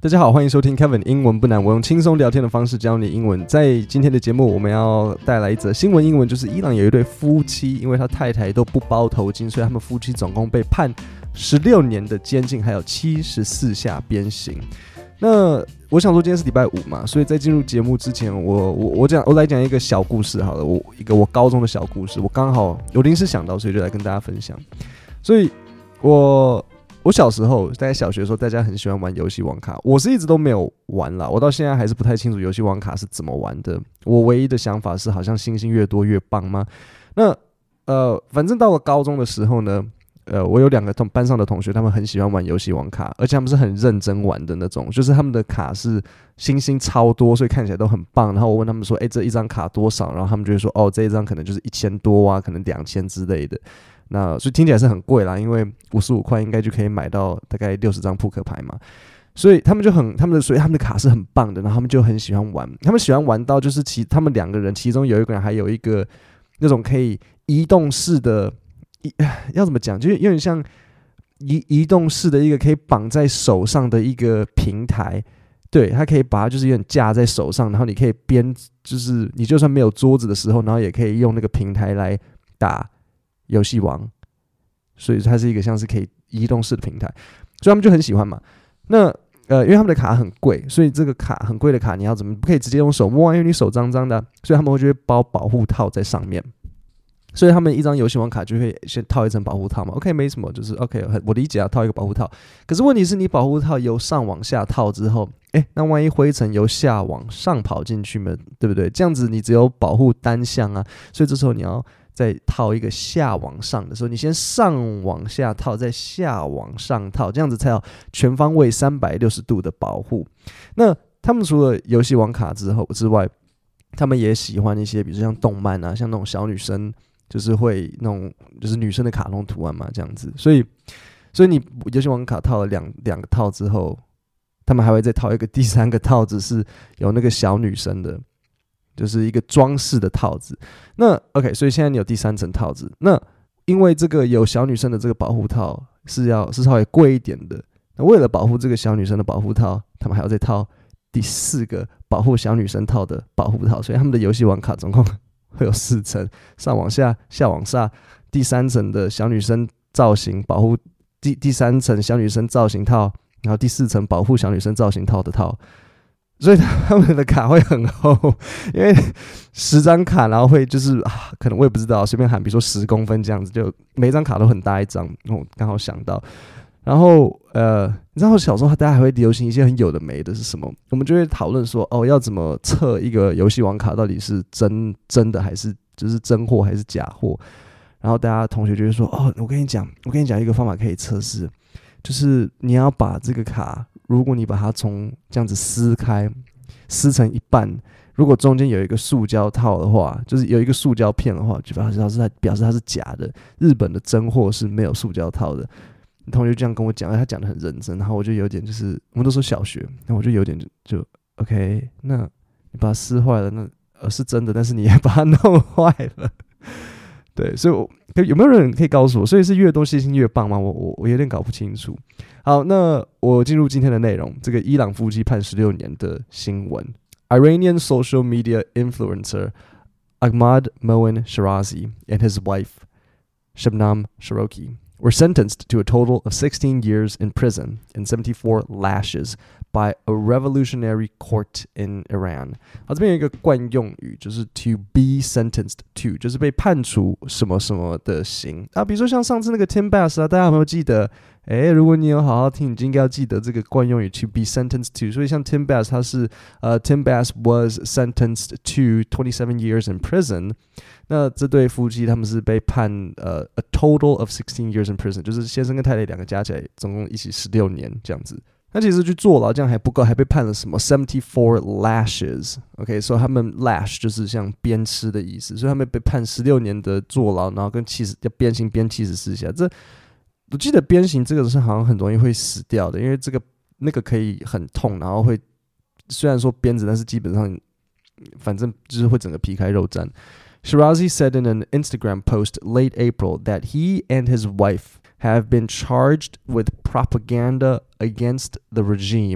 大家好，欢迎收听 Kevin 英文不难，我用轻松聊天的方式教你英文。在今天的节目，我们要带来一则新闻英文，就是伊朗有一对夫妻，因为他太太都不包头巾，所以他们夫妻总共被判16年的监禁，还有74下鞭刑。那我想说今天是礼拜五嘛，所以在进入节目之前，我来讲一个小故事好了，我高中的小故事，我刚好有临时想到，所以就来跟大家分享。所以我小时候在小学的时候，大家很喜欢玩游戏王卡，我是一直都没有玩啦，我到现在还是不太清楚游戏王卡是怎么玩的。我唯一的想法是，好像星星越多越棒吗？那反正到了高中的时候呢，我有2个班上的同学，他们很喜欢玩游戏王卡，而且他们是很认真玩的那种，就是他们的卡是星星超多，所以看起来都很棒。然后我问他们说，这一张卡多少？然后他们就会说，这一张可能就是1000多啊，可能2000之类的。那所以听起来是很贵啦，因为55块应该就可以买到大概60张扑克牌嘛，所以他们的卡是很棒的，然后他们就很喜欢玩，他们喜欢玩到就是他们2个人，其中有一个人还有一个那种可以移动式的，要怎么讲，就是有点像移动式的一个可以绑在手上的一个平台。对，它可以把它就是有点架在手上，然后你可以就是你就算没有桌子的时候，然后也可以用那个平台来打游戏王，所以它是一个像是可以移动式的平台，所以他们就很喜欢嘛。那因为他们的卡很贵，所以这个卡很贵的卡你要怎么不可以直接用手摸啊？因为你手脏脏的，所以他们就会包保护套在上面。所以他们一张游戏王卡就会先套一层保护套嘛。OK， 没什么，就是 OK， 我理解啊，套一个保护套。可是问题是你保护套由上往下套之后，那万一灰尘由下往上跑进去嘛，对不对？这样子你只有保护单向啊，所以这时候你要再套一个下往上的时候，你先上往下套，再下往上套，这样子才有全方位360度的保护。那他们除了游戏王卡之外，他们也喜欢一些，比如说像动漫啊，像那种小女生，就是会那种就是女生的卡通图案嘛，这样子。所以你游戏王卡套了两个套之后，他们还会再套一个第3个套子，是有那个小女生的。就是一个装饰的套子。那 OK， 所以现在你有第3层套子。那因为这个有小女生的这个保护套是稍微贵一点的。那为了保护这个小女生的保护套，他们还要再套第4个保护小女生套的保护套。所以他们的游戏王卡总共会有4层，上往下，下往上，第3层的小女生造型保护，第3层小女生造型套，然后第4层保护小女生造型套的套。所以他们的卡会很厚，因为10张卡，然后会就是可能我也不知道，随便喊，比如说10公分这样子，就每一张卡都很大一张。我刚好想到，然后你知道小时候大家还会流行一些很有的没的是什么？我们就会讨论说，要怎么测一个游戏王卡到底是真的还是就是真货还是假货？然后大家同学就会说，我跟你讲一个方法可以测试，就是你要把这个卡。如果你把它从这样子撕成一半，如果中间有一个塑胶套的话，就是有一个塑胶片的话，就表示它是假的。日本的真货是没有塑胶套的。同学这样跟我讲，他讲得很认真，然后我就有点就是我们都说小学，然后我就有点就 OK， 那你把它撕坏了，那是真的，但是你也把它弄坏了。对，所以有没有人可以告诉我？所以是越多星星越棒吗？我有点搞不清楚。好，那我进入今天的内容。这个伊朗夫妻判16年的新闻。Iranian social media influencer Ahmad Moin Shirazi and his wife Shabnam Sharokhi were sentenced to a total of 16 years in prison and 74 lashes by a revolutionary court in Iran。 这边有一个惯用语，就是 to be sentenced to， 就是被判处什么什么的刑啊。比如说像上次那个 Tim Bass 啊，大家有没有记得？如果你有好好听，你就应该要记得这个惯用语 to be sentenced to。 所以像 Tim Bass 他是Tim Bass was sentenced to 27 years in prison。 那这对夫妻他们是被判a total of 16 years in prison， 就是先生跟太太2个加起来总共一起16年这样子。那其实去坐牢这样还不够，还被判了什么74 lashes。 OK， 所以他们 lash 就是像鞭笞的意思，所以他们被判16年的坐牢，然后跟要鞭刑鞭74下。我记得鞭刑这个是好像很容易会死掉的，因为那个可以很痛，然后会虽然说鞭子，但是基本上反正就是会整个皮开肉绽。Shirazi said in an Instagram post late April that he and his wife have been charged with propaganda against the regime,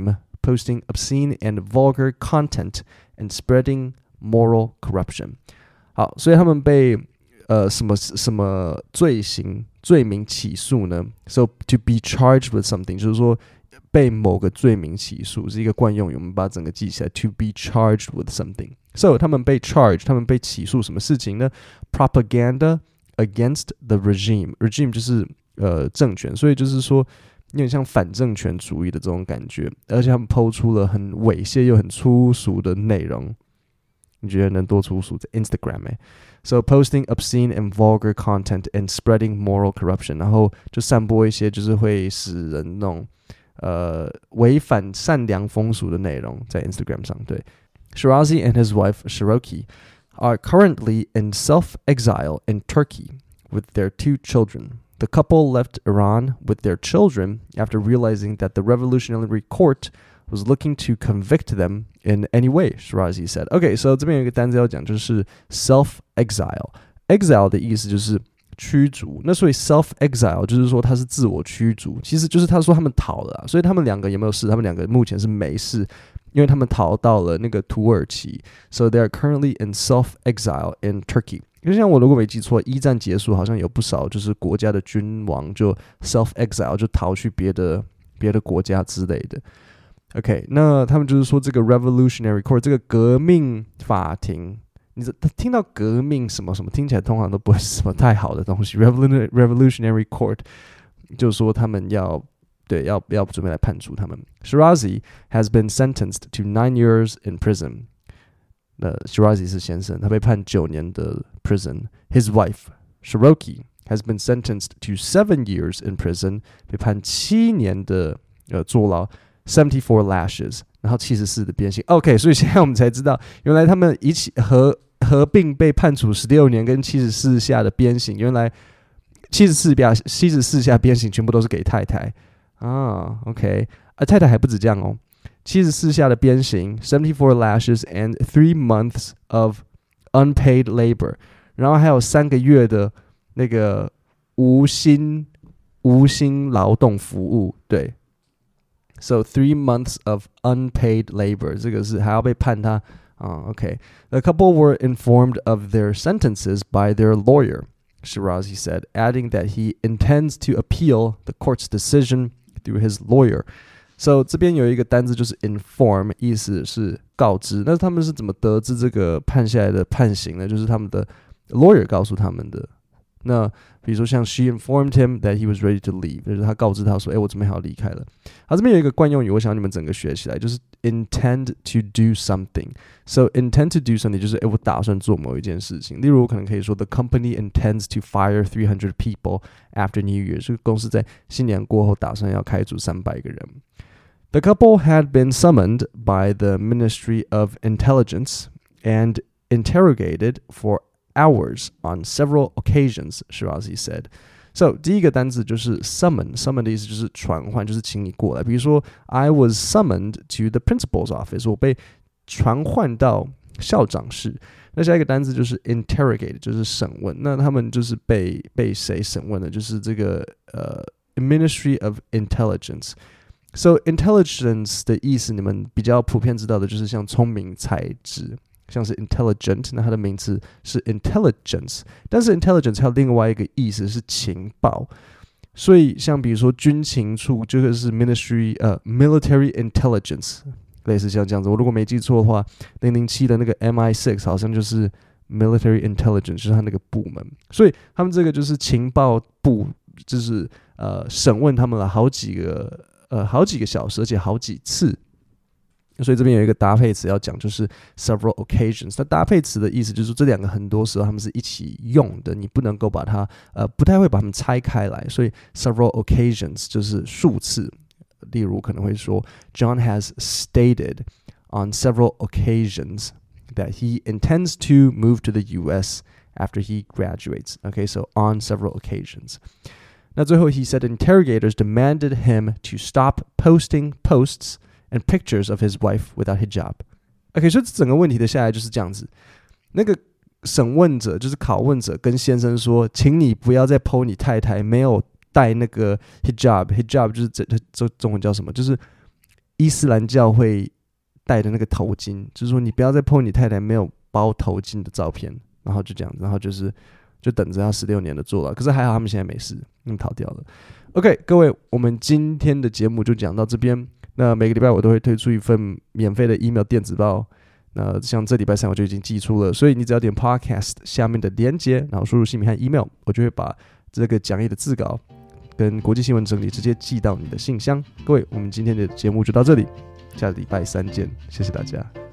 posting obscene and vulgar content and spreading moral corruption. 好，所以他们被什么罪名起诉呢 ？So to be charged with something 就是说被某个罪名起诉是一个惯用语，我们把整个记起来。To be charged with something. So 他们被 charged， 他们被起诉什么事情呢 ？Propaganda against the regime. Regime 就是政权，所以就是说有点像反政权主义的这种感觉，而且他们抛出了很猥亵又很粗俗的内容。你觉得能多粗俗？在 Instagram So posting obscene and vulgar content and spreading moral corruption， 然后就散播一些就是会使人那种违反善良风俗的内容在 Instagram 上。对 Shirazi and his wife Shiroki are currently in self-exile in Turkey with their 2 children. The couple left Iran with their children after realizing that the Revolutionary Court was looking to convict them in any way, Shirazi said. Okay, so 这边有一个单字要讲，就是 self-exile. Exile 的意思就是驱逐，那所以 self-exile 就是说他是自我驱逐，其实就是他说他们逃了所以他们两个有没有事？他们两个目前是没事，因为他们逃到了那个土耳其。So they are currently in self-exile in Turkey. 因为像我如果没记错，一战结束好像有不少就是国家的君王就 self-exile 就逃去别的国家之类的。OK， 那他们就是说这个 Revolutionary Court 这个革命法庭，你听到革命什么什么，听起来通常都不会是什么太好的东西。Revolutionary Court 就是说他们要准备来判处他们。Shirazi has been sentenced to 9 years in prison. Shirazi 是先生，他被判9年的 prison. His wife Shiroki has been sentenced to 7 years in prison. 被判7年的坐牢。74 lashes， 然后74的鞭刑。OK， 所以现在我们才知道，原来他们一起合并被判处16年跟74下的鞭刑。原来74下鞭刑全部都是给太太啊。OK， 太太还不止这样哦，74下的鞭刑 ，74 lashes and 3 months of unpaid labor， 然后还有3个月的那个无薪劳动服务，对。So 3 months of unpaid labor， 这个是还要被判他OK. The couple were informed of their sentences by their lawyer, Shirazi said, adding that he intends to appeal the court's decision through his lawyer. So 这边有一个单字就是 inform， 意思是告知。那他们是怎么得知这个判下来的判刑呢？就是他们的 lawyer 告诉他们的。那比如说像 she informed him that he was ready to leave， 就是他告知他说，我准备好离开了。好，这边有一个惯用语，我想你们整个学起来，就是 intend to do something. So intend to do something 就是我打算做某一件事情。例如我可能可以说 the company intends to fire 300 people after New Year， 这个公司在新年过后打算要开除300个人。The couple had been summoned by the Ministry of Intelligence and interrogated for hours on several occasions, Shirazi said. So 第一个单字就是 summon 的意思就是传唤，就是请你过来。比如说 I was summoned to the principal's office， 我被传唤到校长室。那下一个单字就是 interrogate， 就是审问。那他们就是被谁审问的？就是这个Ministry of Intelligence。So intelligence 的意思，你们比较普遍知道的就是像聪明才智。像是 intelligent， 那它的名词是 intelligence， 但是 intelligence 还有另外一个意思是情报，所以像比如说军情处就是 military intelligence， 类似像这样子。我如果没记错的话，007的那个 MI6 好像就是 military intelligence， 就是他那个部门，所以他们这个就是情报部，就是审问他们了好几个小时，而且好几次。所以这边有一个搭配词要讲，就是 several occasions。那搭配词的意思就是这两个很多时候他们是一起用的，你不能够把它不太会把它们拆开来。所以 several occasions 就是数次。例如可能会说 John has stated on several occasions that he intends to move to the US after he graduates. Okay, so on several occasions. 那最后 he said interrogators demanded him to stop posting posts and pictures of his wife without hijab. OK， 所以整个问题的下来就是这样子。那个审问者就是拷问者跟先生说，请你不要再 po 你太太没有戴那个 hijab 就是这中文叫什么？就是伊斯兰教会戴的那个头巾，就是说你不要再 po 你太太没有包头巾的照片，然后就这样，然后就等着要16年的坐牢。可是还好他们现在没事，逃掉了。OK， 各位，我们今天的节目就讲到这边。那每个礼拜我都会推出一份免费的 email 电子报，那像这礼拜3我就已经寄出了，所以你只要点 podcast 下面的连结，然后输入姓名和 email， 我就会把这个讲义的字稿跟国际新闻整理直接寄到你的信箱。各位，我们今天的节目就到这里，下礼拜3见，谢谢大家。